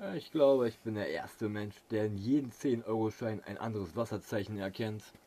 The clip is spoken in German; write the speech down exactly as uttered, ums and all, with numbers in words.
Ich glaube, ich bin der erste Mensch, der in jedem zehn Euro Schein ein anderes Wasserzeichen erkennt.